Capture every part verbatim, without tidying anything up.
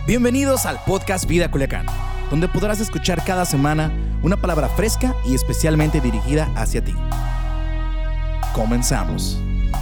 Bienvenidos al podcast Vida Culiacán, donde podrás escuchar cada semana una palabra fresca y especialmente dirigida hacia ti. Comenzamos.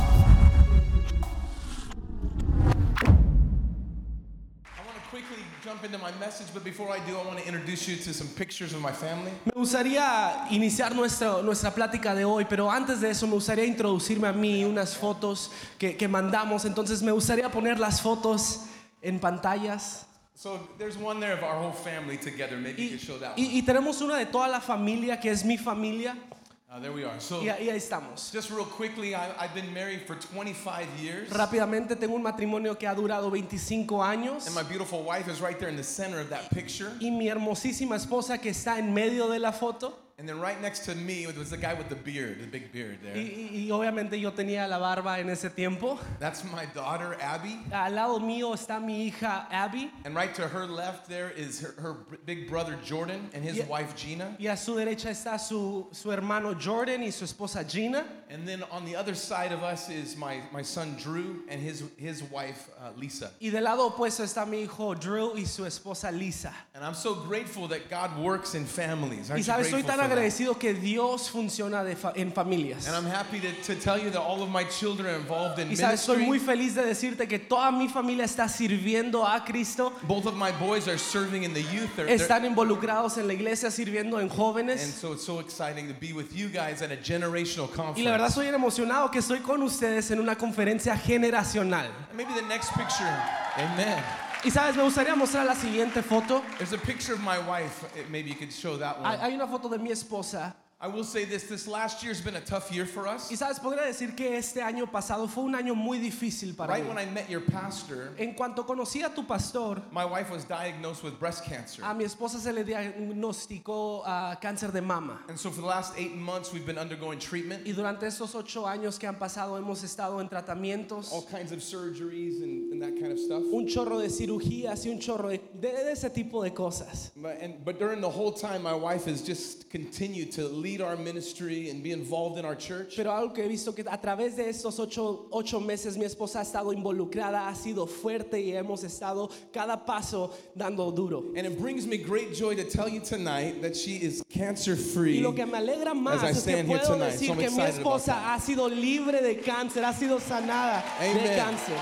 Me gustaría iniciar nuestra, nuestra plática de hoy, pero antes de eso me gustaría introducirme a mí unas fotos que, que mandamos. Entonces me gustaría poner las fotos en pantallas. So there's one there of our whole family together. Maybe you Y, could show that y, one. y tenemos una de toda la familia, que es mi familia. Uh, there we are. So Y, y ahí estamos. just real quickly, I, I've been married for twenty-five years. Rápidamente, tengo un matrimonio que ha durado veinticinco años. And my beautiful wife is right there in the center of that picture. Y mi hermosísima esposa que está en medio de la foto. And then right next to me was the guy with the beard, the big beard there. Y, y, y obviamente yo tenía la barba en ese tiempo. That's my daughter, Abby. Al lado mío está mi hija Abby. And right to her left there is her, her big brother Jordan and his Yeah. wife Gina. Y a su derecha está su, su hermano Jordan y su esposa Gina. And then on the other side of us is my, my son Drew and his, his wife uh, Lisa. Y del lado opuesto está mi hijo Drew y su esposa Lisa. And I'm so grateful that God works in families. Aren't Y you sabes, soy grateful tan for that? agradecido que Dios funciona de fa- en familias. And I'm happy to, to tell you that all of my children are involved in Y sabes, estoy ministry. muy feliz de decirte que toda mi familia está sirviendo a Cristo. Both of my boys are serving in the youth. They're- they're- Están involucrados en la iglesia sirviendo en and jóvenes. so it's so exciting to be with you guys at a generational Y la verdad conference. soy emocionado que estoy con ustedes en una conferencia generacional. And maybe the next picture. Amen. Y sabes, me gustaría mostrar la siguiente foto. There's a picture of my wife. Eh, Maybe you could show that Hay, one. hay una foto de mi esposa. I will say this. This last year's been a tough year for us. Y sabes, podría decir que este año pasado fue un año muy difícil para Right mí. when I met your pastor, En cuanto conocí a tu pastor, my wife was diagnosed with breast cancer. a mi esposa se le diagnosticó ah, cáncer de mama. And so for the last eight months, we've been undergoing treatment. Y durante estos ocho años que han pasado hemos estado en tratamientos, All kinds of surgeries and, and that kind of stuff. un chorro de cirugías y un chorro de, de- de ese tipo de cosas. But, and, but during the whole time, my wife has just continued to lead our ministry and be involved in our church. Pero algo que he visto que a través de estos ocho, ocho meses mi esposa ha estado involucrada, ha sido fuerte y hemos estado cada paso dando duro. And it brings me great joy to tell you tonight that she is cancer Y free. lo que me alegra más As I es que stand here puedo tonight, so decir I'm que mi excited about esposa that. ha sido libre de cáncer, ha sido sanada de Amen. cáncer.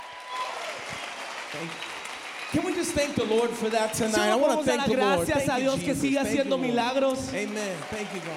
Can we just thank the Lord for that tonight? I Solo want to podemos dar thank the Lord. gracias Thank a you, Dios que Jesus. siga Thank you, haciendo Lord. milagros. Amen. Thank you, God.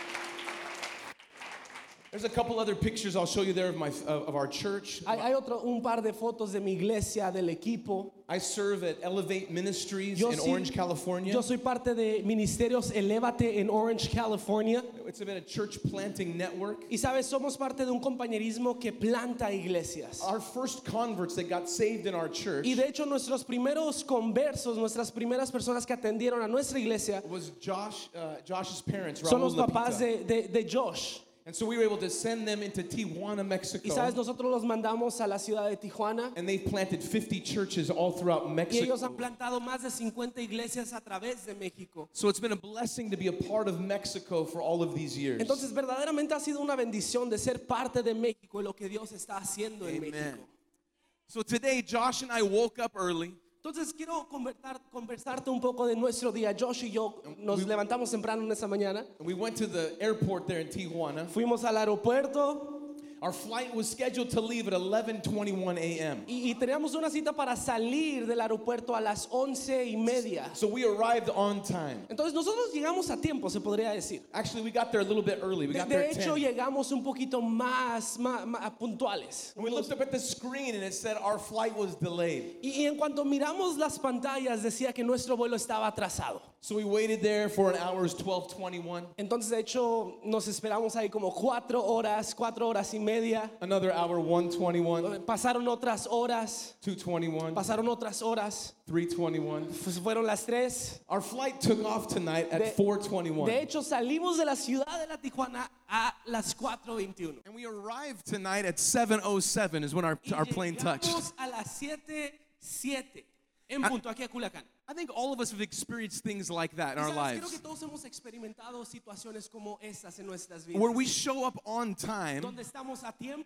There's a couple other pictures I'll show you there of my of of our church. Hay, hay otro, un par de fotos de mi iglesia, del equipo. I serve at Elevate Ministries Yo, in sí- Orange, California. yo soy parte de Ministerios Elévate en Orange, California. It's been a church planting network. Y sabes, somos parte de un compañerismo que planta iglesias. Our first converts that got saved in our church Y de hecho nuestros primeros conversos, nuestras primeras personas que atendieron a nuestra iglesia was Josh, uh, Josh's parents, son Raul los papás Lapita. de, de, de Josh. And so we were able to send them into Tijuana, Mexico. Y sabes, nosotros los mandamos a la ciudad de Tijuana. And they've planted fifty churches all throughout Y Mexico. ellos han plantado más de cincuenta iglesias a través de México. So it's been a blessing to be a part of Mexico for all of these years. Entonces verdaderamente ha sido una bendición de ser parte de México y lo que Dios está haciendo en Amen. México. So today, Josh and I woke up early. Entonces quiero conversar, conversarte un poco de nuestro día. Josh y yo nos levantamos temprano en esa mañana. And we went to the airport there in Tijuana. Fuimos al aeropuerto Our flight was scheduled to leave at eleven twenty-one a.m. y, y teníamos una cita para salir del aeropuerto a las once y media. So we arrived on time. Entonces nosotros llegamos a tiempo, se podría decir. Actually, we got there a little bit early. We De, got there de at hecho, ten. llegamos un poquito más, más, más puntuales. And we looked up at the screen and it said our flight was delayed. Y, y en cuanto miramos las pantallas decía que nuestro vuelo estaba atrasado. So we waited there for an hour, it was twelve twenty-one. Entonces de hecho nos esperamos ahí como cuatro horas, cuatro horas y media. Another hour, one twenty-one, Pasaron otras horas, two twenty-one, pasaron otras horas. three twenty-one. Pues fueron las tres. Our flight took off tonight at De, four twenty-one. de hecho salimos de la ciudad de la Tijuana a las cuatro veintiuno. And we arrived tonight at seven oh seven is when our, Y our plane touched. llegamos a las siete siete en punto aquí a Culiacán. I think all of us have experienced things like that in Y our sabes, creo que lives. todos hemos experimentado situaciones como estas en nuestras vidas. Where we show up on time Donde estamos a tiempo,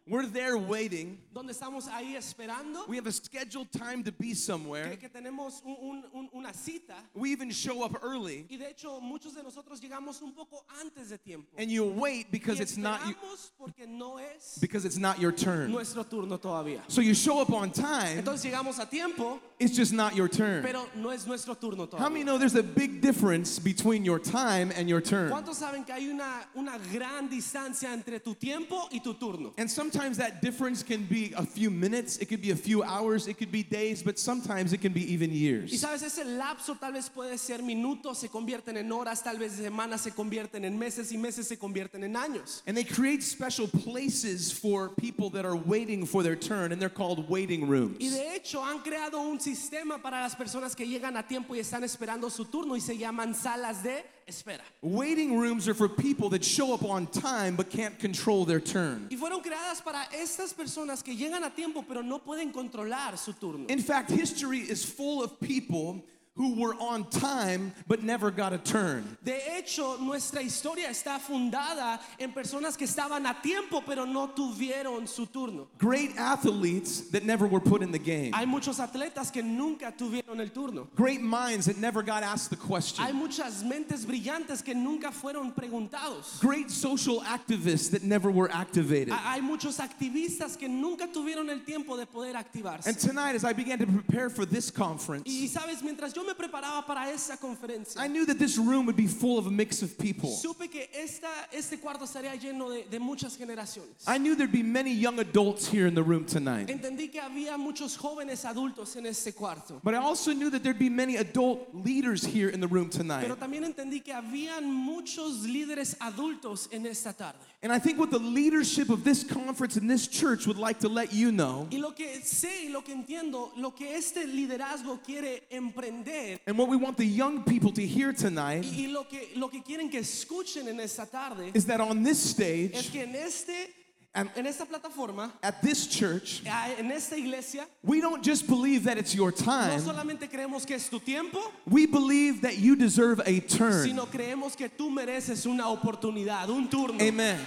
We're there waiting. donde estamos ahí esperando, We have a scheduled time to be somewhere. que, que tenemos un- un- un- una cita. We even show up early. Y de hecho, muchos de nosotros llegamos un poco antes de tiempo. And you wait because Y it's not you, esperamos porque no es because it's not your turn. nuestro turno todavía. So you show up on time, Entonces llegamos a tiempo, it's just not your turn. pero no es nuestro turno How many todavía. know there's a big difference between your time and your turn? ¿Cuántos saben que hay una, una gran distancia entre tu tiempo y tu turno? And sometimes that difference can be a few minutes, it could be a few hours, it could be days, but sometimes it can be even Y years. sabes, ese lapso tal vez puede ser minutos, se convierten en horas, tal vez semanas se convierten en meses y meses se convierten en años. And they create special places for people that are waiting for their turn, and they're called waiting rooms. Y de hecho han creado un sistema para las personas que llegan a tiempo y están esperando su turno y se llaman salas de espera. Waiting rooms are for people that show up on time but can't control their turn. Y fueron creadas para estas personas que llegan a tiempo pero no pueden controlar su turno. In fact, history is full of people who were on time but never got a turn. De hecho, nuestra historia está fundada en personas que estaban a tiempo pero no tuvieron su turno. Great athletes that never were put in the game. Hay muchos atletas que nunca tuvieron el turno. Great minds that never got asked the Hay question. muchas mentes brillantes que nunca fueron preguntados. Great social activists that never were activated. Hay muchos activistas que nunca tuvieron el tiempo de poder activarse. And tonight, as I began to prepare for this conference, Y sabes, mientras yo me preparaba para esa conferencia, I knew that this room would be full of a mix of people. supe que esta, este cuarto estaría lleno de, de muchas generaciones. I knew there'd be many young adults here in the room tonight. Entendí que había muchos jóvenes adultos en este cuarto. But I also knew that there'd be many adult leaders here in the room tonight. Pero también entendí que habían muchos líderes adultos en esta tarde. And I think what the leadership of this conference and this church would like to let you know, Y lo que sé y lo que entiendo, lo que este liderazgo quiere emprender and what we want the young people to hear tonight, y, y lo que lo que quieren que escuchen en esta tarde is that on this es stage, que en este and en esta plataforma, at this church, en esta iglesia, we don't just believe that it's your no time, solamente creemos que es tu tiempo, we believe that you deserve a turn. sino creemos que tú mereces una oportunidad, un turno. Amen.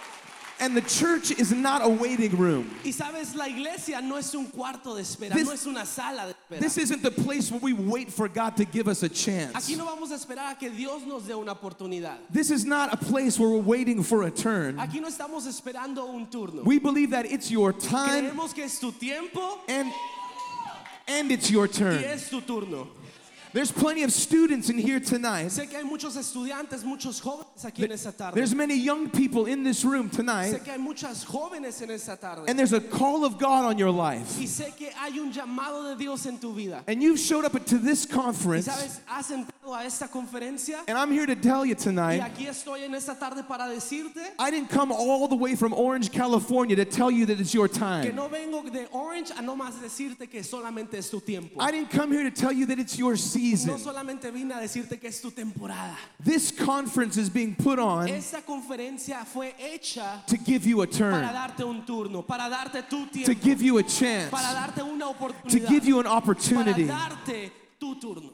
And the church is not a waiting room. Y sabes, la iglesia no es un cuarto de espera, This- no es una sala de espera. This isn't the place where we wait for God to give us a chance. Aquí no vamos a esperar a que Dios nos dé una oportunidad. This is not a place where we're waiting for a turn. Aquí no estamos esperando un turno. We believe that it's your time Creemos que es tu tiempo and and it's your y turn. es tu turno. There's plenty of students in here tonight. Sé que hay muchos estudiantes, muchos jóvenes aquí en esta tarde. There's many young people in this room Sé tonight, que hay muchas jóvenes en esta tarde. and there's a call of God on your life. Y sé que hay un llamado de Dios en tu vida. And you've showed up to this Y conference, sabes, has entrado a esta conferencia and I'm here to tell you y tonight, aquí estoy en esta tarde para decirte I didn't come all the way from Orange, California to tell you that it's your que time. no vengo de Orange a no más decirte que solamente es tu tiempo. I didn't come here to tell you that it's your No season. solamente vine a decirte que es tu temporada. This conference is being put on Esta conferencia fue hecha to give you a para turn, darte un turno, para darte tu to tiempo, give you a chance, para darte una to oportunidad, give you an para opportunity. darte tu turno.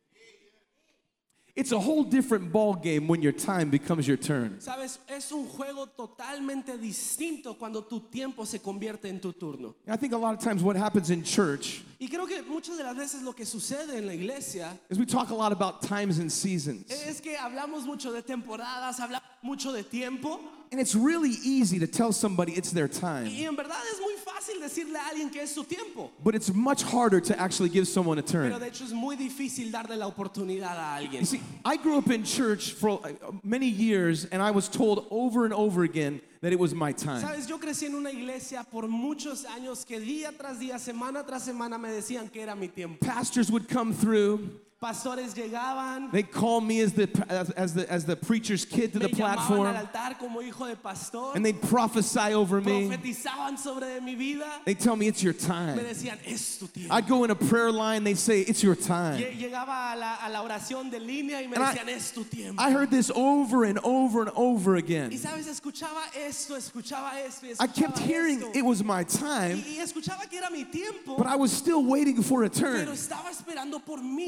It's a whole different ball game when your time becomes your turn. Sabes, es un juego totalmente distinto cuando tu tiempo se convierte en tu turno. I think a lot of times what happens in church Y creo que muchas de las veces lo que sucede en la iglesia is we talk a lot about times and seasons. es que hablamos mucho de temporadas, hablamos mucho de tiempo. And it's really easy to tell somebody it's their time, Y en verdad es muy fácil decirle a alguien que es su tiempo. but it's much harder to actually give someone a Pero turn. de hecho es muy difícil darle la oportunidad a alguien. You see, I grew up in church for uh, many years, and I was told over and over again that it was my time. Sabes, yo crecí en una iglesia por muchos años que día tras día, semana tras semana me decían que era mi tiempo. Pastors would come through. Pastores llegaban, They call me as the as, as the as the preacher's kid to me the llamaban al platform, altar como hijo de pastor, and they prophesy over me. profetizaban sobre mi vida, They tell me it's your me time. decían, es tu tiempo. I'd go in a prayer line. They say it's your time. Lle- Llegaba a la, a la oración de línea y me And I- decían, es tu tiempo. I heard this over and over and over Y again. sabes, escuchaba esto, escuchaba esto, y I kept escuchaba hearing esto. it was my time, Y, y escuchaba que era mi tiempo, but I was still waiting for a pero turn. estaba esperando por mi turno.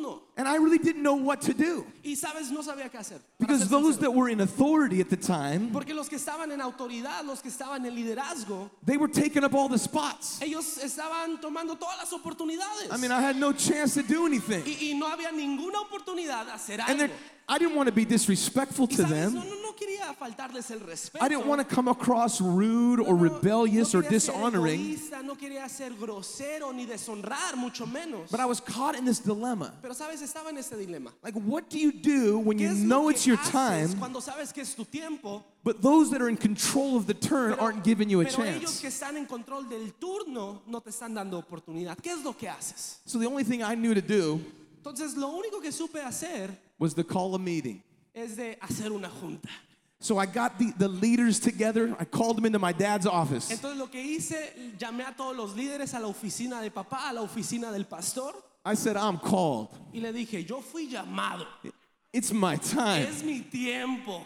turno. And I really didn't know what to do. Y sabes, no sabía qué hacer. para Because ser those sincero. that were in authority at the time, Porque los que estaban en autoridad, los que estaban en liderazgo, they were taking up all the spots. ellos estaban tomando todas las oportunidades. I mean, I had no chance to do anything. y, y no había ninguna oportunidad de hacer And algo. then I didn't want to be disrespectful Y to sabes, no, them. no, no quería faltarles el respeto. I didn't want to come across rude or No, no, rebellious no or quería ser dishonoring. egoísta, no quería ser grosero ni deshonrar, mucho menos. But I was caught in this dilemma. Pero sabes, estaba en este dilema. Like, what do you do when ¿Qué you es know lo it's que your haces time, cuando sabes que es tu tiempo, but those that are in control of the turn pero, aren't giving you a pero ellos chance? que están en control del turno no te están dando oportunidad? ¿Qué es lo que haces? So the only thing I knew to do Entonces, lo único que supe hacer was to call a meeting. es de hacer una junta. So I got the, the leaders together. I called them into my dad's office. Entonces, lo que hice, llamé a todos los líderes a la oficina de papá, a la oficina del pastor, I said, I'm called. y le dije, yo fui llamado. It's my time. Es mi tiempo.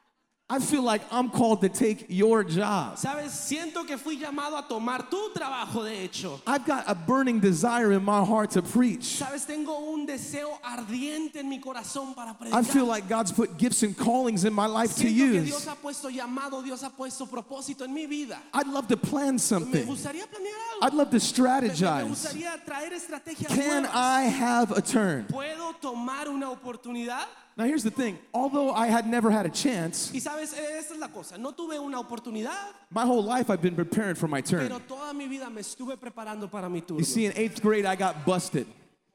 I feel like I'm called to take your job. Sabes, siento que fui llamado a tomar tu trabajo, de hecho. I've got a burning desire in my heart to preach. Sabes, tengo un deseo ardiente en mi corazón para predicar. I feel like God's put gifts and callings in my life to Siento que use. Dios ha puesto llamado, Dios ha puesto propósito en mi vida. I'd love to plan Me something. gustaría planear algo. I'd love to Me- Me strategize. gustaría traer estrategias Can nuevas. I have a turn? ¿Puedo tomar una oportunidad? Now here's the thing. Although I had never had a chance, Y sabes, esta es la cosa. No tuve una oportunidad, my whole life I've been preparing for my turn. pero toda mi vida me estuve preparando para mi turno. You see, in eighth grade I got busted.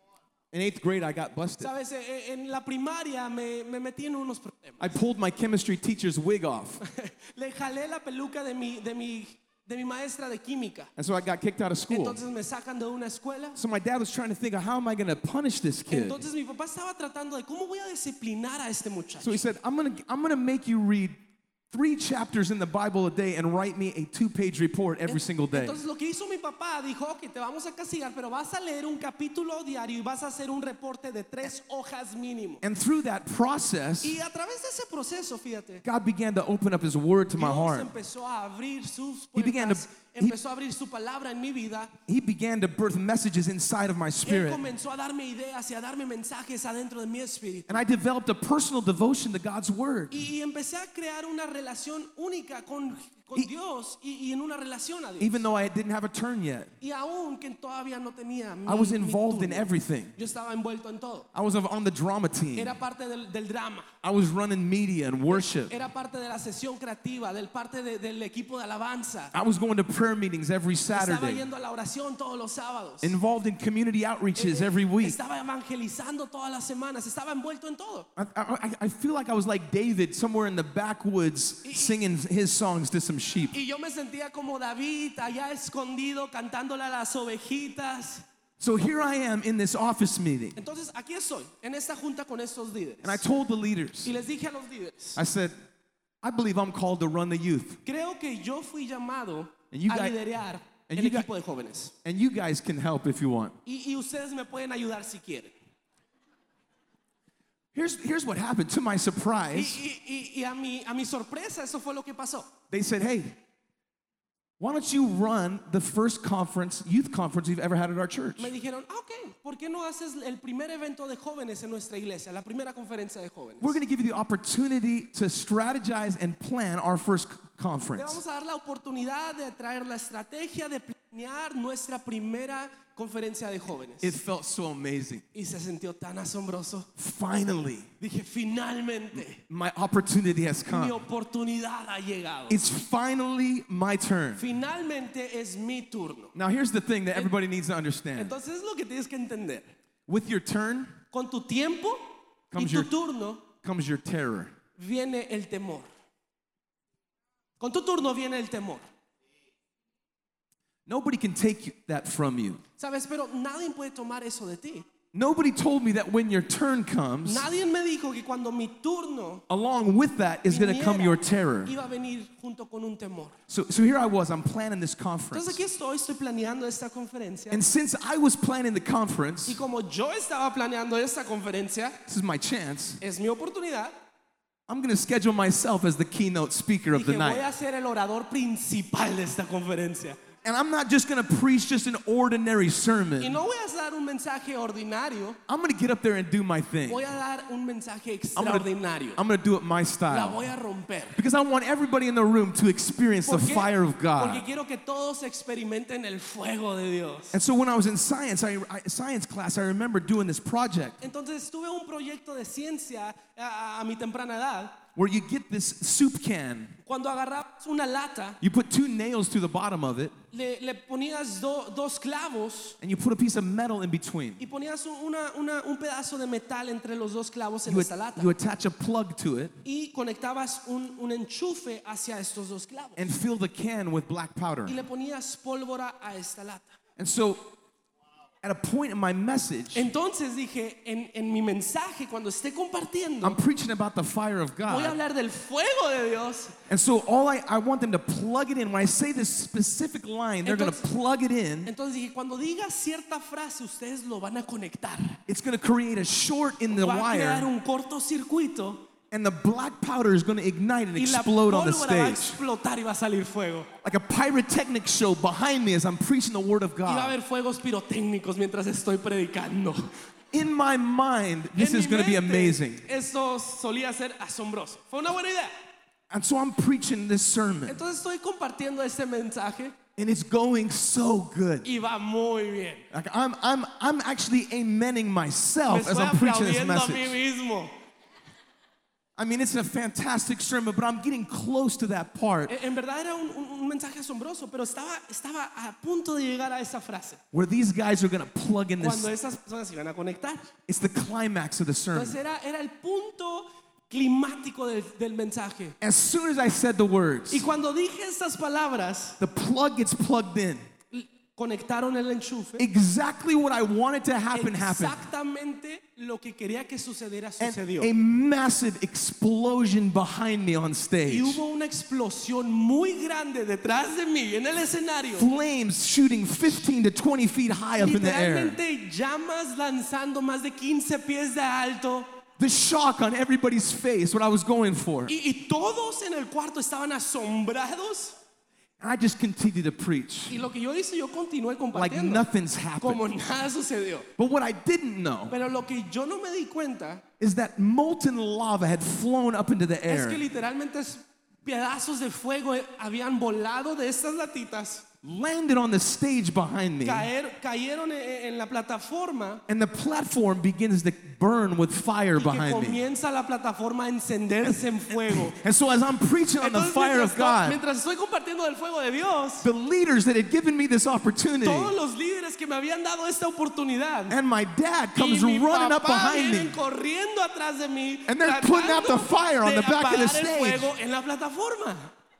In eighth grade I got busted. Sabes, eh, en la primaria me, me metí en unos problemas. I pulled my chemistry teacher's wig off. Le jalé la peluca de mi, de mi, de mi maestra de química. And so I got kicked out of school. Entonces me sacan de una escuela. So my dad was trying to think of how am I going to punish this kid? Entonces mi papá estaba tratando de cómo voy a disciplinar a este muchacho. So he said, I'm going to I'm going to make you read three chapters in the Bible a day and write me a two-page report every single day. Entonces lo que hizo mi papá, dijo, ok, te vamos a castigar, pero vas a leer un capítulo diario y vas a hacer un reporte de tres hojas mínimo. And through that process, Y a través de ese proceso, fíjate, God began to open up his word to my Dios heart. empezó a abrir sus He began to- puertas, he- empezó a abrir su palabra en mi vida. He began to birth messages inside of my Él spirit. comenzó a darme ideas y a darme mensajes adentro de mi espíritu. And I developed a personal devotion to God's word. Y, y empecé a crear una relación única con, con Y- Dios y, y en una relación a Dios. Even though I didn't have a turn yet, Y aún que todavía no tenía mi, I was mi involved in turno. everything. Yo estaba envuelto en todo. I was on the drama team. Era parte del, del drama. I was running media and worship. Era parte de la sesión creativa, del parte de- del equipo de alabanza. I was going to prayer meetings every Estaba Saturday. yendo a la oración todos los sábados. Involved in community outreaches Eh, every week. Estaba evangelizando todas las semanas. Estaba envuelto en todo. I, I, I feel like I was like David somewhere in the backwoods singing his songs to some sheep. Y yo me sentía como David allá escondido cantándole a las ovejitas. So here I am in this office meeting. Entonces aquí estoy, en esta junta con estos líderes. And I told the leaders, Y les dije a los líderes, I said, I believe I'm called to run the youth. creo que yo fui llamado And you a guys- liderar and el you guys- equipo de jóvenes. And you guys can help if you want. Y, y ustedes me pueden ayudar si quieren. Here's, here's what happened. To my Y, surprise, y- y- y a, mi, a mi sorpresa, eso fue lo que pasó. they said, hey, why don't you run the first conference, youth conference we've ever had at our church? Me dijeron, ah, ok, ¿por qué no haces el primer evento de jóvenes en nuestra iglesia? La primera conferencia de jóvenes. We're going to give you the opportunity to strategize and plan our first Le conference. vamos a dar la oportunidad de traer la estrategia de planear nuestra primera conferencia de jóvenes. It felt so amazing. Y se sintió tan asombroso. Finally, Dije, finalmente, my opportunity has mi come. oportunidad ha llegado. It's finally my turn. Finalmente es mi turno. Now, here's the thing that everybody needs to understand. Entonces es lo que tienes que entender. With your turn Con tu tiempo y Comes tu your- turno comes your terror. viene el temor. Con tu turno viene el temor. Nobody can take that from you. ¿Sabes? Pero nadie puede tomar eso de ti. Nobody told me that when your turn comes, Nadie me dijo que cuando mi turno along with that is going to come viniera, your terror. iba a venir junto con un temor. So, so here I was, I'm planning this Entonces conference. aquí estoy, estoy planeando esta conferencia. And since I was planning the Y conference, como yo estaba planeando esta conferencia, this is my chance, es mi oportunidad. I'm going to schedule myself as the keynote speaker of the Dije, voy night. a ser el orador principal de esta conferencia. And I'm not just going to preach just an ordinary sermon. Y no voy a dar un mensaje ordinario. I'm going to get up there and do my thing. Voy a dar un mensaje I'm gonna, extraordinario. I'm going to do it my La style. voy a romper. Because I want everybody in the room to experience the ¿Por qué? fire of Porque God. quiero que todos experimenten el fuego de Dios. And so when I was in science, I, I, science class, I remember doing this project Entonces tuve un proyecto de ciencia a, a mi temprana edad. where you get this soup can. Cuando agarrabas una lata, You put two nails through the bottom of it, le, le ponías do- dos clavos and you put a piece of metal in between. y ponías un- una, una- un pedazo de metal entre los dos clavos en You, esta lata. you attach a plug to it Y conectabas un, un enchufe hacia estos dos clavos. and fill the can with black powder. Y le ponías pólvora a esta lata. And so at a point in my message, Entonces dije, en, en mi mensaje, cuando esté compartiendo, I'm preaching about the fire of voy a God. hablar del fuego de Dios. And so all I, I want them to plug it in. When I say this specific line, they're going to Entonces- plug it in. Entonces dije, cuando diga cierta frase, ustedes lo van a conectar. It's going to create a short in the Va a crear wire, un cortocircuito and the black powder is going to ignite and y la explode on the pólvora va a stage. explotar y va a salir fuego. Like a pyrotechnic show behind me as I'm preaching the word of Y va a God. haber fuegos pirotécnicos mientras estoy predicando. In my mind, this En is mi going to be mente, amazing. Esto solía ser asombroso. Fue una buena idea. And so I'm preaching this sermon, Entonces estoy compartiendo este mensaje and it's going so good. y va muy bien. Like I'm, I'm, I'm actually amening Me myself as estoy I'm preaching this aplaudiendo a mí message. mismo. I mean, it's a fantastic sermon, but I'm getting close to that part En en verdad era un, un- un mensaje asombroso, pero estaba, estaba a punto de llegar a esa frase. where these guys are going to plug in Cuando this. esas personas iban a conectar. It's the climax of the sermon. Entonces era, era el punto climático del, del mensaje. As soon as I said the words, Y cuando dije estas palabras, the plug gets plugged in. l- conectaron el enchufe. Exactly what I wanted to happen happened. Exactamente lo que quería que sucediera And sucedió. a massive explosion behind me on Y stage. hubo una explosión muy grande detrás de mí en el escenario. Flames shooting fifteen to twenty feet high up in the air. Literalmente llamas lanzando más de quince pies de alto. The shock on everybody's face, what I was going for. Y, y todos en el cuarto estaban asombrados. And I just continued to preach Y lo que yo hice, yo continué like compartiendo. nothing's Como happened. nada sucedió. But what I didn't know Pero lo que yo no me di cuenta is that molten lava had flown up into the es que air, literalmente es- pedazos de fuego eh, habían volado de estas latitas, landed on the stage behind me, caer- cayeron en, en la plataforma and the platform begins to burn with fire y que behind me. comienza la plataforma a encenderse en fuego. And so as I'm preaching on the Entonces, fire mientras, of to- God, mientras estoy compartiendo del fuego de Dios, the leaders that had given me this opportunity, todos los líderes que me habían dado esta oportunidad and my dad y comes mi running up papá behind vienen me. corriendo atrás de mí, And they're putting out the tratando fire on de the back of the apagar el stage. fuego en la plataforma.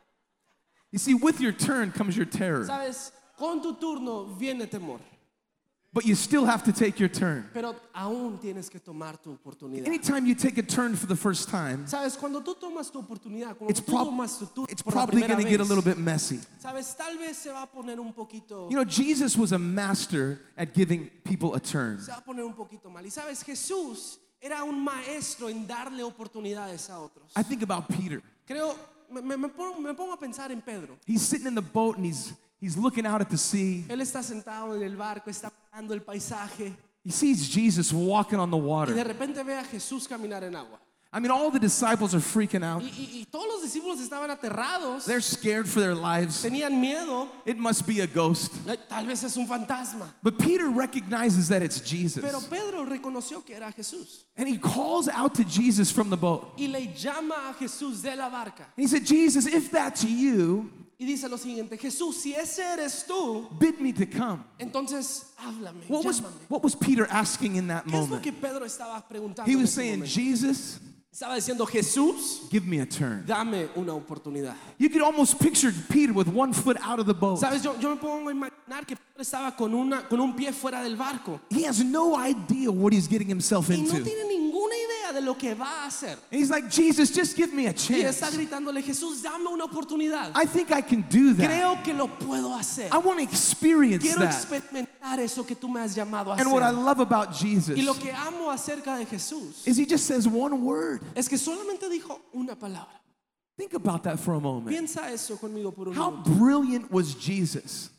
You see, with your turn comes your terror, Sabes, con tu turno viene temor, but you still have to take your turn. pero aún tienes que tomar tu oportunidad. Anytime you take a turn for the first time, Sabes, cuando tú tomas tu oportunidad, cuando it's, tú prob- tomas tu turno it's por la probably primera going to get a vez, little bit messy. sabes, tal vez se va a poner un poquito, You know, Jesus was a master at giving people a turn. se va a poner un poquito mal. Y sabes, Jesús era un maestro en darle oportunidades a otros. I think about Peter. Creo, me, me- me pongo, me pongo a pensar en Pedro. He's sitting in the boat and he's, he's looking out at the sea. Él está sentado en el barco, está mirando el paisaje He sees Jesus walking on the y de water. repente ve a Jesús caminar en agua. I mean, all the disciples are freaking out. Y, y- y todos los discípulos estaban aterrados, They're scared for their lives. tenían miedo. It must be a ghost. Eh, Tal vez es un fantasma. But Peter recognizes that it's Jesus. Pero Pedro reconoció que era Jesús And he calls out to Jesus from the boat. y le llama a Jesús de la barca He said, Jesus, if that's you, y dice lo siguiente: Jesús, si ese eres tú, bid me to come. entonces háblame, What was, llámame. what was Peter asking in that ¿Qué es lo moment? que Pedro estaba preguntando? He en was ese saying, momento? Jesus, Estaba diciendo: Jesús, give me a turn. dame una oportunidad. You could almost picture Peter with one foot out of the boat. Sabes, yo, yo me pongo a imaginar que Pedro estaba con, una, con un pie fuera del barco He has no idea what he's getting himself y no into. tiene ninguna idea de lo que va a hacer. And he's like, Jesus, just give me a Y chance. está gritándole: Jesús, dame una oportunidad. I think I can do that. Creo que lo puedo hacer. I want to experience Quiero that. experimentar eso que tú me has llamado a And what I hacer. love about Jesus Y lo que amo acerca de Jesús is he just says one word. es que solamente dijo una palabra. Think about that for a moment. Piensa eso conmigo por un How momento. brilliant was Jesus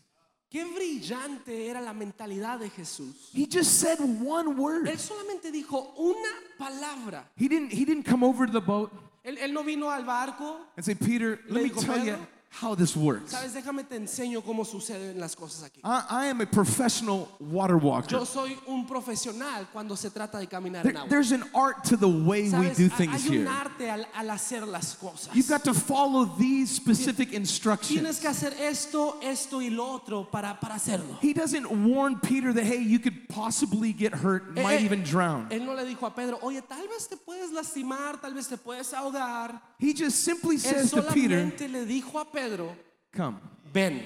Qué brillante era la mentalidad de Jesús. He just said one word. Él solamente dijo una palabra. He didn't, he didn't come over to the boat Él, él no vino al barco. and say, Peter, Le let me dijo, tell you Pedro, how this works. Sabes, déjame te enseño cómo suceden las cosas aquí. I, I am a professional water walker. Yo soy un profesional cuando se trata de caminar There- en agua. there's an art to the way we Sabes, do hay things un here. arte al, al hacer las cosas. You've got to follow these specific instructions. Tienes que hacer esto, esto y lo otro para, para hacerlo. He doesn't warn Peter that, hey, you could possibly get hurt, Eh, might eh, even drown. Él no le dijo a Pedro, oye, tal vez te puedes lastimar, tal vez te puedes ahogar. He just simply Él says to Peter, solamente le dijo a Pedro, come. ven.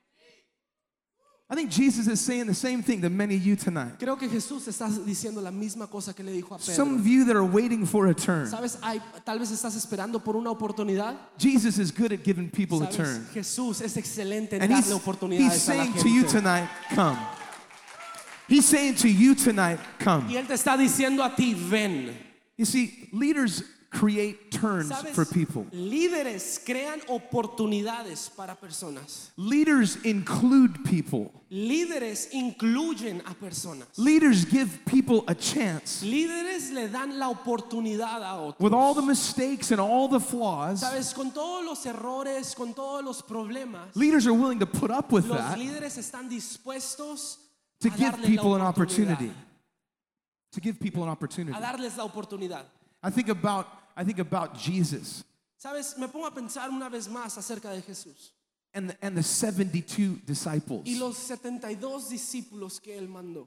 I think Jesus is saying the same thing to many of you tonight. Creo que Jesús está diciendo la misma cosa que le dijo a Some Pedro. of you that are waiting for a turn. Sabes, hay, tal vez estás esperando por una oportunidad. Jesus is good at giving people a Sabes, turn. Jesús es excelente en And he's, darle he's oportunidades a la saying to you gente. tonight, come. He's saying to you tonight, come. Y él te está diciendo a ti, ven. You see, leaders create turns ¿Sabes? for people. Líderes crean oportunidades para personas. Leaders include people. Líderes incluyen a personas. Leaders give people a chance. Líderes le dan la oportunidad a otros. With all the mistakes and all the flaws, Sabes, con todos los errores, con todos los problemas, leaders are willing to put up with los that líderes están dispuestos to a give darle people an la oportunidad, opportunity. To give people an opportunity. a darles la oportunidad. I think about I think about Jesus Sabes, me pongo a pensar una vez más acerca de Jesús and the, and the seventy-two disciples. y los setenta y dos discípulos que él mandó.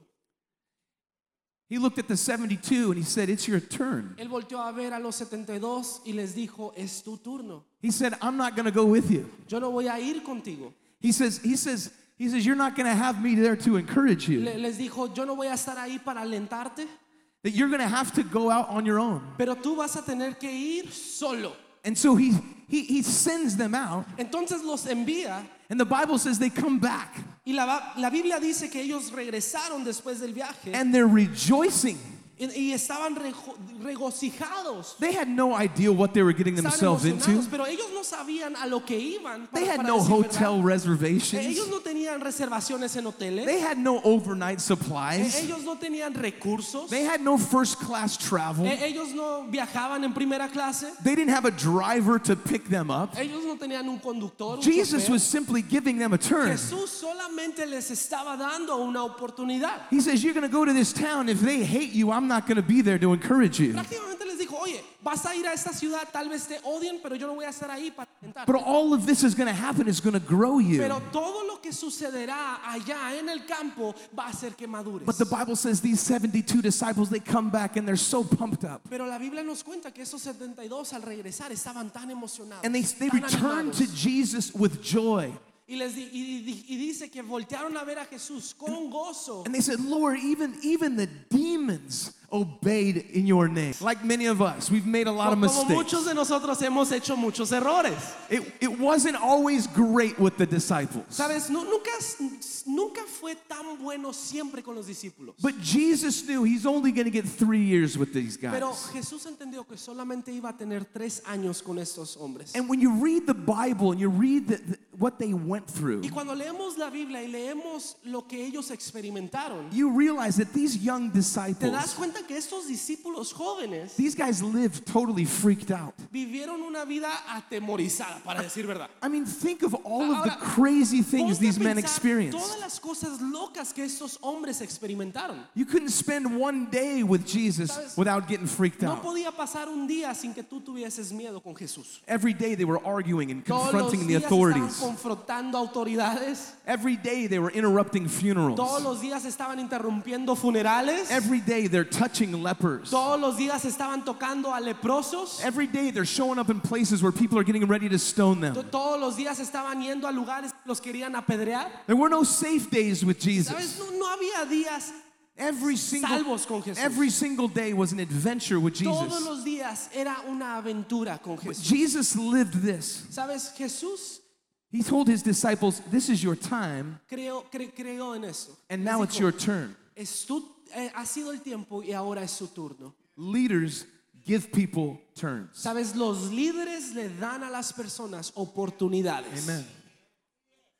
He looked at the seventy-two and he said, "It's your turn." Él volteó a ver a los setenta y dos y les dijo, es tu turno. He said, "I'm not going to go with you." Yo no voy a ir contigo. He says he says he says you're not going to have me there to encourage you. Le- les dijo, yo no voy a estar ahí para alentarte, That you're going to have to go out on your own. pero tú vas a tener que ir solo. And so he he he sends them out, Entonces los envía and the Bible says they come back y la, la Biblia dice que ellos regresaron después del viaje and they're rejoicing. y, y estaban rejo- regocijados. They had no idea what they were getting Estaban themselves emocionados, into. pero ellos no sabían a lo que iban. They para- had para no decir hotel verdad. reservations. Ellos no tenían reservaciones en hoteles. They had no overnight Eh, supplies. Ellos no tenían recursos. They had no first class travel. Eh, Ellos no viajaban en primera clase. They didn't have a driver to pick them up. Ellos no tenían un conductor. Un Jesus chofer. was simply giving them a turn. Jesús solamente les estaba dando una oportunidad. He says, "You're going to go to this town. If they hate you, I'm not going to be there to encourage you." Prácticamente les dijo, oye, vas a ir a esta ciudad, tal vez te odien, pero yo no voy a estar ahí para alentarte. But all of this is going to happen is going to grow you. Pero todo lo que sucederá allá en el campo va a hacer que madures. But the Bible says these seventy-two disciples, they come back and they're so pumped up. Pero la Biblia nos cuenta que esos setenta y dos al regresar estaban tan emocionados, And they, they tan return animados. to Jesus with joy. Y, les di- y, di- y dice que voltearon a ver a Jesús con gozo. And they said, "Lord, even, even the demons obeyed in your name." Like many of us, we've made a lot of Como mistakes. muchos de nosotros hemos hecho muchos errores. It, it wasn't always great with the disciples. Sabes, Nu- nunca, nunca fue tan bueno siempre con los discípulos. But Jesus knew he's only going to get three years with these guys. Pero Jesús entendió que solamente iba a tener tres años con estos hombres. And when you read the Bible and you read the, the, what they went through, Y cuando leemos la Biblia y leemos lo que ellos experimentaron, you realize that these young te das disciples, cuenta que estos discípulos jóvenes these guys lived totally freaked out. vivieron una vida atemorizada, para decir verdad. I mean, think of all of the Ahora, crazy things Ponte a these men pensar experienced. todas las cosas locas que estos hombres experimentaron. You couldn't spend one day with Jesus ¿Sabes? without getting freaked No out. podía pasar un día sin que tú tuvieses miedo con Jesús. Every day they were arguing and Todos los confronting the días estaban authorities. confrontando autoridades. Every day they were interrupting Todos funerals. los días estaban interrumpiendo funerales. Every day they're touching lepers. Todos los días estaban tocando a leprosos. Every day they're showing up in places where people are getting ready to stone To- them. Todos los días estaban yendo a lugares que los querían apedrear. There were no safe days with ¿Sabes? Jesus. No, no había días. Every single, Salvos con Jesús. every single day was an adventure with Todos Jesus. los días era una aventura con But Jesús. Jesus lived this. ¿Sabes? Jesús He told his disciples, "This is your time, creó, cre- creó en eso. and Les now it's dijo, your turn." "Es tu- eh, ha sido el tiempo y ahora es su turno. Leaders give people turns. ¿Sabes? Los líderes le dan a las personas oportunidades. Amen.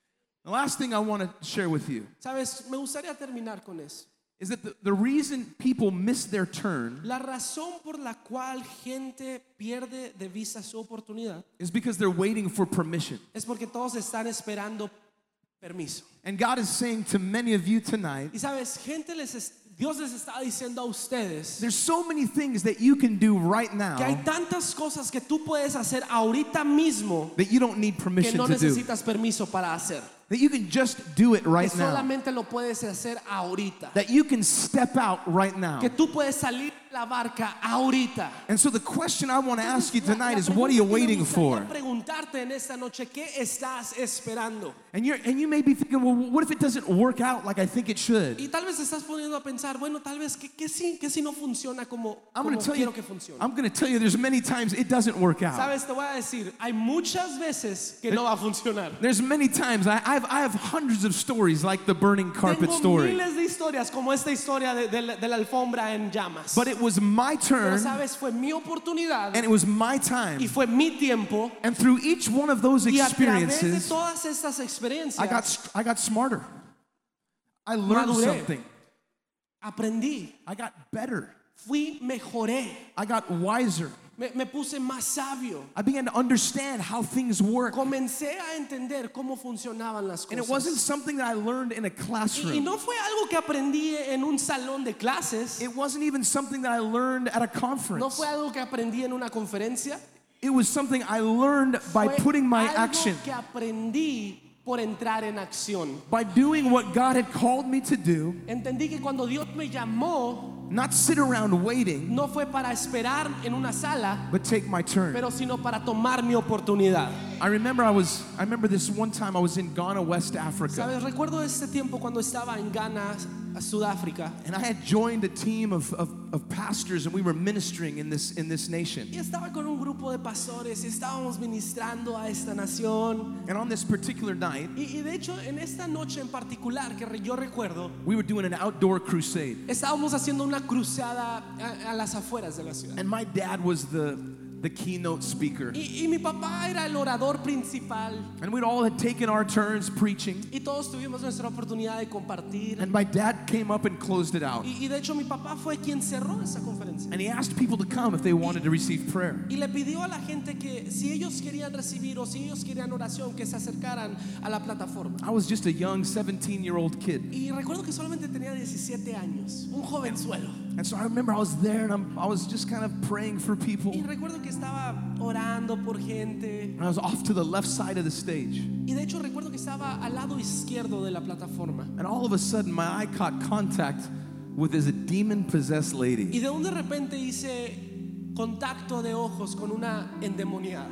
The last thing I want to share with you Sabes, me gustaría terminar con eso. is that the, the reason people miss their turn La razón por la cual gente pierde de vista su oportunidad is because they're waiting for permission. es porque todos están esperando permiso. And God is saying to many of you tonight, Y sabes, gente les es- Dios les está diciendo a ustedes there's so many things that you can do right now que hay tantas cosas que tú puedes hacer ahorita mismo that you don't need que permission no to do. necesitas permiso para hacer. That you can just do it Que right now. solamente lo puedes hacer ahorita. That you can step out right now. Que tú puedes salir de la barca ahorita. And so the question I want to ask you La- tonight la is, what are you pregunta que me waiting for? gustaría preguntarte en esta noche, ¿qué estás esperando? And you're and you may be thinking, well, what if it doesn't work out like I think it should? Y tal vez estás poniendo a pensar, bueno, tal vez que, que sí, que sí no funciona como, I'm como going to tell quiero you. que funcione. I'm going to tell you. There's many times it doesn't work out. Sabes, te voy a decir, hay muchas veces que no va a funcionar. There's many times I, I've I have hundreds of stories like the burning carpet Tengo story. miles de historias como esta historia de, de la- de la alfombra en llamas. But it was my Pero turn, sabes, fue mi oportunidad and it was my y time. fue mi tiempo. And through each one of those Y a través de experiences, todas estas experiencias, I got I got smarter. I learned Maduré. something. aprendí, I got better. fui, mejoré, I got wiser. me, me puse más sabio. I began to understand how things work. Comencé a entender cómo funcionaban las And it wasn't cosas. something that I learned in a Y, y classroom. no fue algo que aprendí en un salón de clases. It wasn't even something that I learned at a No conference. fue algo que aprendí en una conferencia. It was something I learned by Fue putting my algo action, que aprendí por entrar en acción. by doing what God had called me to do, Entendí que cuando Dios me llamó, not sit around waiting, no fue para esperar en una sala, but take my turn. pero sino para tomar mi oportunidad. I remember I was I remember this one time I was in Ghana, West Africa, Sabes, recuerdo este tiempo cuando estaba en Ghana, a Sudáfrica, and I had joined a team of, of, of pastors, and we were ministering in this in this nation. y estaba con un grupo de pastores y estábamos ministrando a esta nación. And on this particular night, Y, y de hecho, en esta noche en particular que re- yo recuerdo, we were doing an outdoor crusade. estábamos haciendo una cruzada a, a las afueras de la ciudad. And my dad was the, the keynote speaker. Y, y mi papá era el orador principal And we'd all had taken our turns preaching. y todos tuvimos nuestra oportunidad de compartir. And my dad came up and closed it out. Y, y de hecho mi papá fue quien cerró esa conferencia. And he asked people to come if they wanted to receive prayer. Y le pidió a la gente que si ellos querían recibir o si ellos querían oración, que se acercaran a la plataforma. I was just a young seventeen-year-old kid. Y recuerdo que solamente tenía diecisiete años, un jovenzuelo. And so I remember I was there and I'm, I was just kind of praying for people. Y recuerdo que estaba orando por gente. And I was off to the left side of the stage. Y de hecho recuerdo que estaba al lado izquierdo de la plataforma. And all of a sudden my eye caught contact with this demon-possessed Y lady. de un de repente hice contacto de ojos con una endemoniada.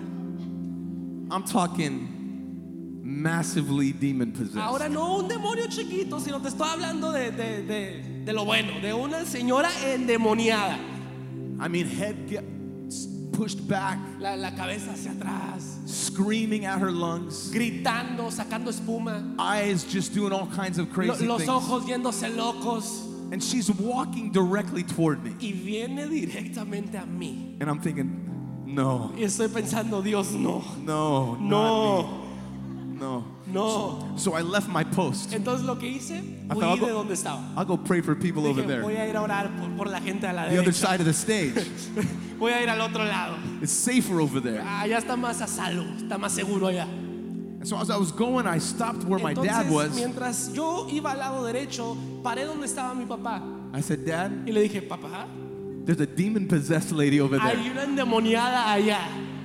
I'm talking massively demon-possessed. Ahora no un demonio chiquito, sino te estoy hablando de, de, de, de lo bueno, de una señora endemoniada. I mean, head get pushed back, La, la cabeza hacia atrás, screaming at her lungs, gritando, sacando espuma, eyes just doing all kinds of lo- crazy los things. ojos yéndose locos. And she's walking directly toward me. Y viene directamente a mí. And I'm thinking, no, Y estoy pensando, Dios, no, no, no, not me. no. no. So I left my post. Entonces lo que hice, I thought, huí I'll de go, donde estaba. I'll go pray for people over Dije, voy there, a ir a orar por, por la gente a la the other derecha. side of the stage. Voy a ir al otro lado. It's safer over there. Allá está más a salvo, está más seguro allá. And so as I was going, I stopped where my dad Entonces, was. mientras yo iba al lado derecho, paré donde estaba mi papá I said, Dad, y le dije, papá, there's a demon-possessed lady over hay there. una endemoniada allá.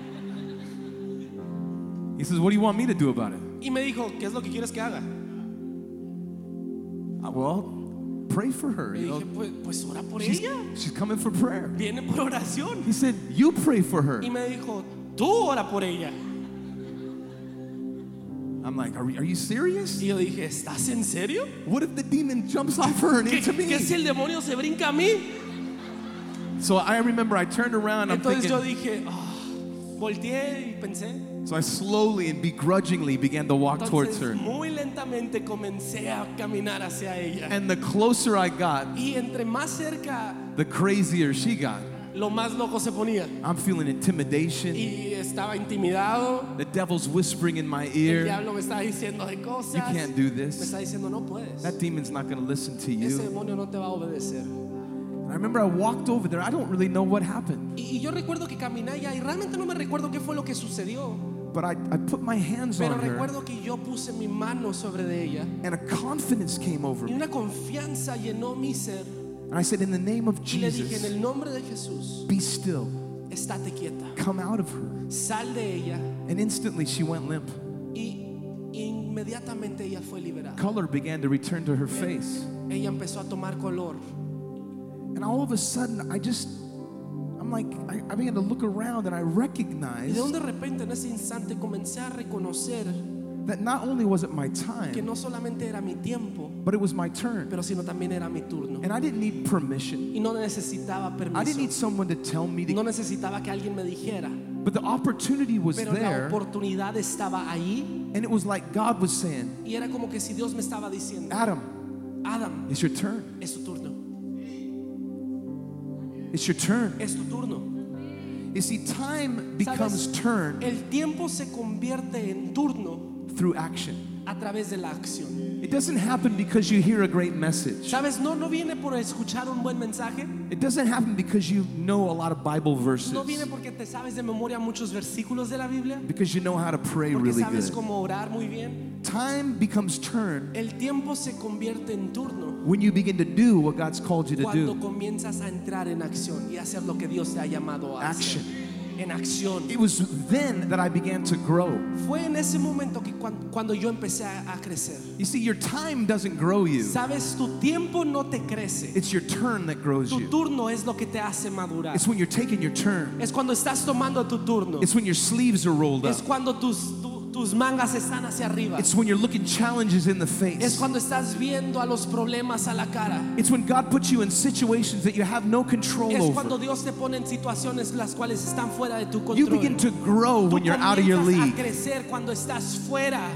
He says, what do you want me to do about it? Y me dijo, ¿qué es lo que quieres que haga? Uh, Well, pray for her. Le You dije, know, pues, pues ora por she's, ella. she's coming for prayer. Viene por oración. He said, you pray for her. Y me dijo, tú ora por ella. I'm like, are, are you serious? Y yo dije, ¿estás en serio? What if the demon jumps off her and ¿Qué, into qué si me? el demonio se brinca a mí? So I remember I turned around, I'm Entonces yo thinking, dije, ah, volteé y pensé. so I slowly and begrudgingly began to walk towards Entonces her. muy lentamente comencé a caminar hacia ella. And the closer I got, Y entre más cerca, the crazier she got. lo más loco se ponía. I'm feeling intimidation. Y estaba intimidado. The devil's whispering in my El ear. diablo me está diciendo de cosas. You can't do Me this. está diciendo no puedes. That demon's not going to listen to Ese you. demonio no te va a obedecer. I remember I walked over there. I don't really know what happened. Y, y yo recuerdo que caminé allá y realmente no me recuerdo qué fue lo que sucedió. But I, I put my hands Pero on her, recuerdo que yo puse mi mano sobre de ella and a confidence came over y me. una confianza llenó mi ser. And I said, in the name of Y le dije, en Jesus, el nombre de Jesús, be still. estate quieta. Come out of her. Sal de ella. And instantly she went limp. Y inmediatamente ella fue liberada. Color began to return to her face. Ella empezó a tomar color. And all of a sudden, I just, I'm like, I, I began to look around and I Y recognized de un de repente en ese instante comencé a reconocer that not only was it my que time, no solamente era mi tiempo, but it was my turn. pero sino también era mi turno. And I didn't need permission. Y no necesitaba I didn't need permiso. someone to tell me No to, necesitaba que alguien me dijera. but the opportunity was Pero la there. oportunidad estaba ahí. And it was like God was saying, Y era como que si Dios me estaba diciendo, Adam, Adam, it's your turn. es tu turno. It's your turn. Es tu turno. You see, time becomes ¿Sabes? turn El tiempo se convierte en turno through action. a través de la acción. It doesn't happen because you hear a great message. ¿Sabes? No, no viene por escuchar un buen mensaje. It doesn't happen because you know a lot of Bible verses. No viene porque te sabes de memoria muchos versículos de la Biblia. Because you know how to pray Porque really sabes good. cómo orar muy bien. Time becomes turn El tiempo se convierte en turno when you begin to do what God's called you to cuando do. comienzas a entrar en acción y hacer lo que Dios te ha llamado a hacer. Action. En acción. It was then that I began to grow. Fue en ese momento que cuan- cuando yo empecé a, a crecer. You see, your time doesn't grow you. Sabes, tu tiempo no te crece. It's your turn that grows Tu you. turno es lo que te hace madurar. It's when you're taking your turn. Es cuando estás tomando tu turno. It's when your sleeves are rolled up. Es cuando tus, tu- tus mangas están hacia arriba. It's when you're looking challenges in the Es face. cuando estás viendo a los problemas a la cara. It's when God puts you in situations that you have no control Es cuando over. Dios te pone en situaciones las cuales están fuera de tu You control. begin to grow Tú when you're out of your comienzas a league. crecer cuando estás fuera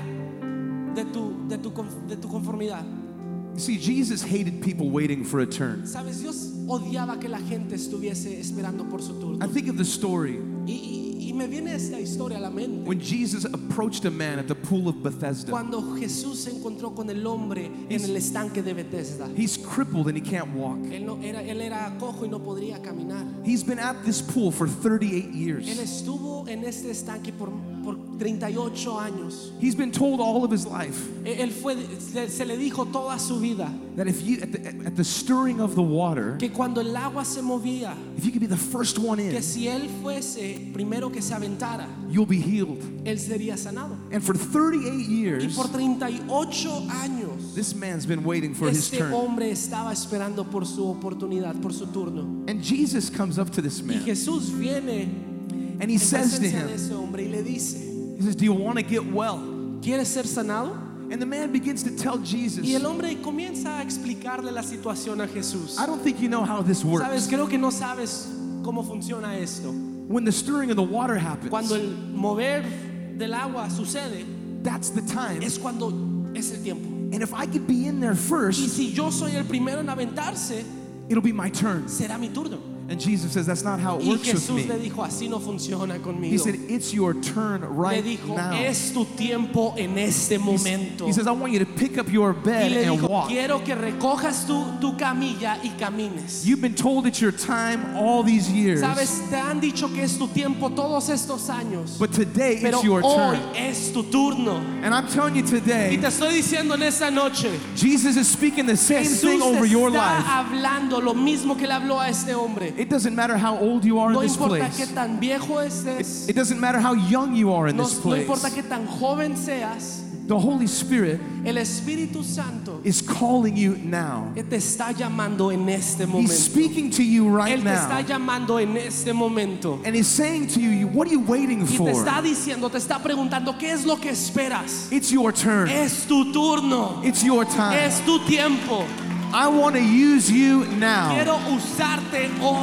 de tu, de tu, conf- de tu conformidad. You see, Jesus hated people waiting for a turn. Sabes, Dios odiaba que la gente estuviese esperando por su turno. I think of the story Y, y- y me viene esta historia a la mente. when Jesus approached a man at the pool of Bethesda. Cuando Jesús se encontró con el hombre en el estanque de Bethesda. He's crippled and he can't walk. Él, no, era, él era cojo y no podría caminar. He's been at this pool for thirty-eight Él years. estuvo en este estanque por, por treinta y ocho años. He's been told all of his life Él él fue, se, se le dijo toda su vida that if you, at the, at the stirring of the water, que cuando el agua se movía, if you could be the first one in, que si él fuese primero que se aventara, you'll be healed. él sería sanado. And for thirty-eight Y years, por treinta y ocho años, this man's been waiting for his este turn. hombre estaba esperando por su oportunidad, por su turno. And Jesus comes up to this Y man Jesús viene and he en says to presencia de him, ese hombre y le dice, he says, do you want to get well? ¿quieres ser sanado? And the man begins to tell Jesus, Y el hombre comienza a explicarle la situación a Jesús. I don't think you know how this Sabes, works. creo que no sabes cómo funciona esto. When the stirring of the water Cuando happens, el mover del agua sucede, that's the time. es cuando es el tiempo. And if I could be in there Y first, si yo soy el primero en aventarse, it'll be my turn. será mi turno. And Jesus says, that's not how it Y works with Jesús le me. dijo, así no funciona He conmigo. said, it's your turn Le right dijo, now. es tu tiempo en este momento. He says, I want you to pick up your Y bed le and dijo, walk. quiero que recojas tu, tu camilla y camines. You've been told it's your time all these years, Sabes, te han dicho que es tu tiempo todos estos años. but today Pero it's your hoy turn. es tu turno. And I'm telling you Y today, te estoy diciendo en esta noche, Jesus is speaking the same Jesús thing over your te life. está hablando lo mismo que le habló a este hombre. It doesn't matter how old you are in No this importa qué place. tan viejo estés, It doesn't matter how young you are in no, this no place. importa qué tan joven seas, The Holy Spirit el Espíritu Santo is calling you now. te está llamando en este He's momento. speaking to you right Él te está now. llamando en este momento. And he's saying to you, what are you waiting Y te for? está diciendo, te está preguntando, ¿qué es lo que esperas? It's your turn. Es tu turno. It's your time. Es tu tiempo. I want to use you now. Quiero usarte hoy.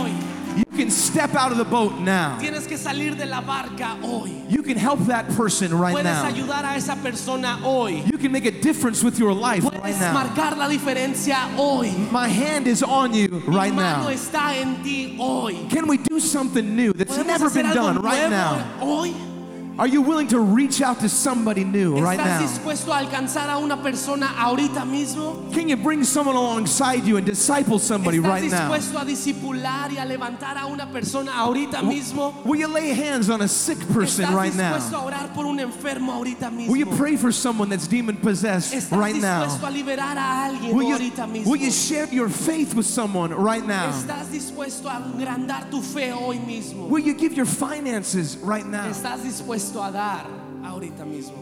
You can step out of the boat now. Tienes que salir de la barca hoy. You can help that person right Puedes now. ayudar a esa persona hoy. You can make a difference with your life right Puedes now. marcar la diferencia hoy. My hand is on you right Mi mano now. está en ti hoy. Can we do something new that's ¿Podemos never hacer been algo done right nuevo now? hoy? Are you willing to reach out to somebody new right ¿Estás now? dispuesto a alcanzar a una persona ahorita mismo? Can you bring someone alongside you and disciple somebody ¿Estás right now? dispuesto a discipular y a levantar a una persona ahorita mismo? Will you lay hands on a sick person ¿Estás right dispuesto now? a orar por un enfermo ahorita mismo? Will you pray for someone that's demon possessed ¿Estás right dispuesto now? a liberar a alguien Will ahorita you, mismo? will you share your faith with someone right now? ¿Estás dispuesto a agrandar tu fe hoy mismo? Will you give your finances right now? ¿Estás dispuesto a dar ahorita mismo?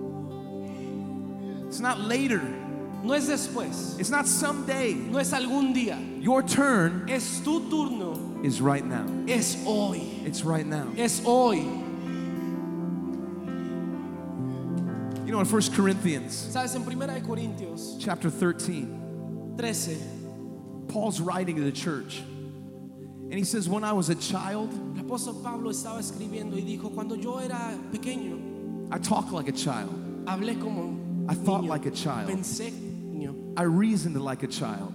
It's not later. No es después, It's not someday. no es algún día, Your turn es tu turno, is right now. es hoy, It's right now. es hoy. You know, in First Corinthians Sabes, en Primera de Corintios chapter thirteen, trece, Paul's writing to the church. And he says, when I was a child, el apóstol Pablo estaba escribiendo y dijo, cuando yo era pequeño, I talked like a child. hablé como I thought niño, like a child. pensé niño, I reasoned like a child.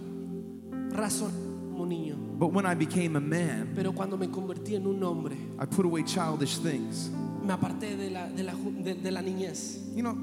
razoné como niño. But when I became a man, Pero cuando me convertí en un hombre, I put away childish things. me aparté de la, de la, ju- de, de la niñez. You know,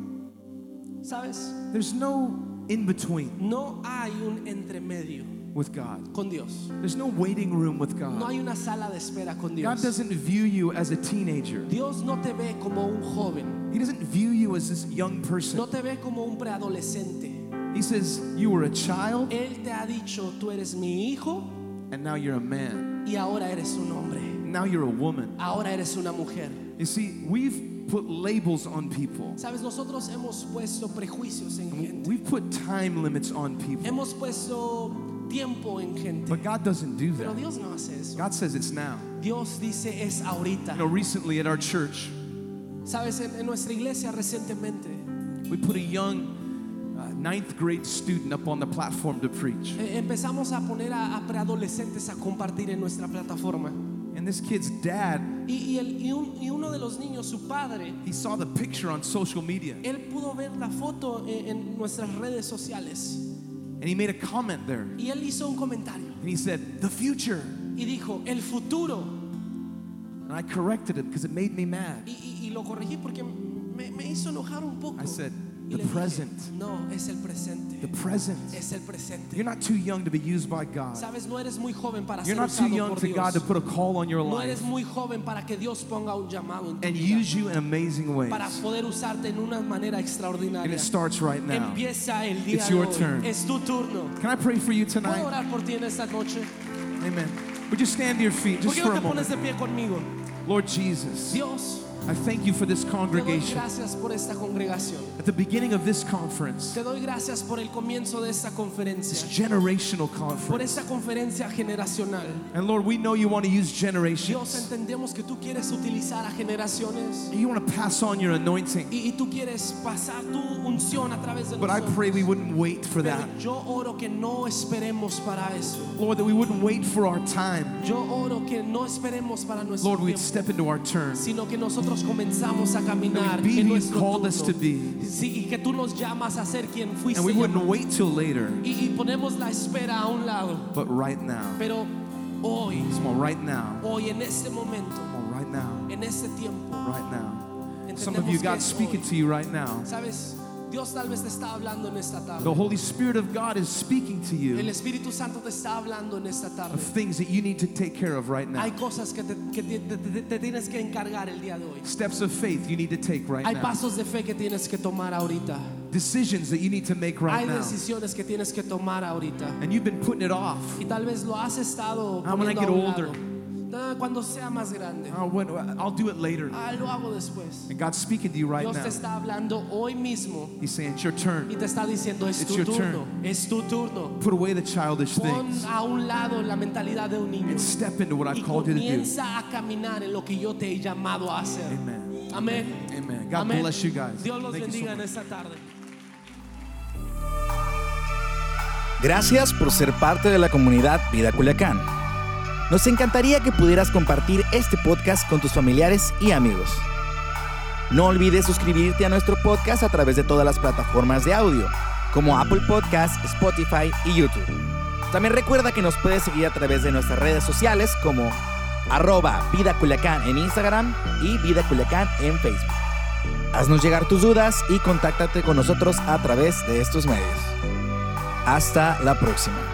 ¿Sabes? there's no in between No hay un entremedio with God. con Dios. There's no waiting room with No God. hay una sala de espera con God Dios. doesn't view you as a teenager. Dios no te ve como un joven. He doesn't view you as this young person. No te ve como un preadolescente. He says, you were a child Él te ha dicho, tú eres mi hijo and now you're a man. y ahora eres un hombre. Now you're a woman. Ahora eres una mujer. You see, we've put labels on people. Sabes, nosotros hemos puesto prejuicios en gente. We've put time limits on people. Hemos puesto tiempo en gente. But God doesn't do Pero that. Dios no hace eso. God says it's now. Dios dice es ahorita. You know, recently at our church, Sabes, en, en nuestra iglesia recientemente we put a young uh, ninth grade student up on the platform to preach. eh, empezamos a poner a, a preadolescentes a compartir en nuestra plataforma. And this kid's dad, Y, y, el, y, un- y uno de los niños, su padre, he saw the picture on social media él pudo ver la foto en, en nuestras redes sociales and he made a comment there. y él hizo un comentario And he said, the future. y dijo, el futuro. And I corrected it because it made me mad. Y, y- y lo corregí porque me, me hizo enojar un poco. I said, Y the le dije, present. no, es el presente. The present. Es el presente. You're not too young to be used by God. Sabes, no eres muy joven para You're ser not too usado young por to Dios. God to put a call on your No life eres muy joven para que Dios ponga un llamado en tu and vida, use you in amazing ways. para poder usarte en una manera And extraordinaria. it starts right now. Empieza el día It's de your hoy. turn. Es tu turno. Can I pray for you ¿Puedo tonight? orar por ti en esta noche? Amen. Would you stand to your feet ¿Por just qué no for a te pones moment? de pie conmigo? Lord Jesus, Dios, I thank you for this te doy congregation. gracias por esta congregación. At the beginning of this conference, Te doy gracias por el comienzo de esta this conferencia, generational por conference. esta conferencia generacional. And Lord, we know you want to use Dios, generations. entendemos que tú quieres utilizar a generaciones You want to pass on your anointing. y, y tú quieres pasar tu unción a través de But I nosotros. pray we wouldn't wait for Pero that. yo oro que no esperemos para eso. Lord, that we wouldn't wait for our time. Yo oro que no esperemos para nuestro Lord, we'd tiempo, step into our turn. sino que nosotros comenzamos a caminar That we'd be en who you nuestro called us to turno. be. Sí, y que tú nos llamas a ser quien fuiste And we wouldn't llamado. wait till later. Y, y ponemos la espera a un lado. But right now. Pero hoy, Come on, right now. hoy en este momento, Come on, right now. en este tiempo, Right now. Some of entendemos you, que God's es speaking hoy. to you right now. Sabes, Dios tal vez te está hablando en esta tarde. The Holy Spirit of God is speaking to El you Espíritu Santo te está hablando en esta tarde. of things that you need to take care of right now. Hay cosas que te, que te- te- te- te tienes que encargar el día de hoy. Steps of faith you need to take right Hay now. pasos de fe que tienes que tomar ahorita. Decisions that you need to make right Hay now. decisiones que tienes que tomar ahorita. And you've been putting it off. Y tal vez lo has estado Ah, when I poniendo get a un older. lado. Ah, cuando sea más grande. Oh, when, I'll do it later. Ah, lo hago después. And God's speaking to you right Dios te now. está hablando hoy mismo He's saying, it's your turn. y te está diciendo es It's tu your turno, turn. es tu turno. Put away the childish Pon things a un lado la mentalidad de un niño and step into what y I've called you to do. comienza a caminar en lo que yo te he llamado a hacer. Amen. Amén. Amen. God Amén. bless you guys. Dios los Thank you so bendiga en much. esta tarde. Gracias por ser parte de la comunidad Vida Culiacán. Nos encantaría que pudieras compartir este podcast con tus familiares y amigos. No olvides suscribirte a nuestro podcast a través de todas las plataformas de audio, como Apple Podcasts, Spotify y YouTube. También recuerda que nos puedes seguir a través de nuestras redes sociales como arroba Vida Culiacán en Instagram y Vida Culiacán en Facebook. Haznos llegar tus dudas y contáctate con nosotros a través de estos medios. Hasta la próxima.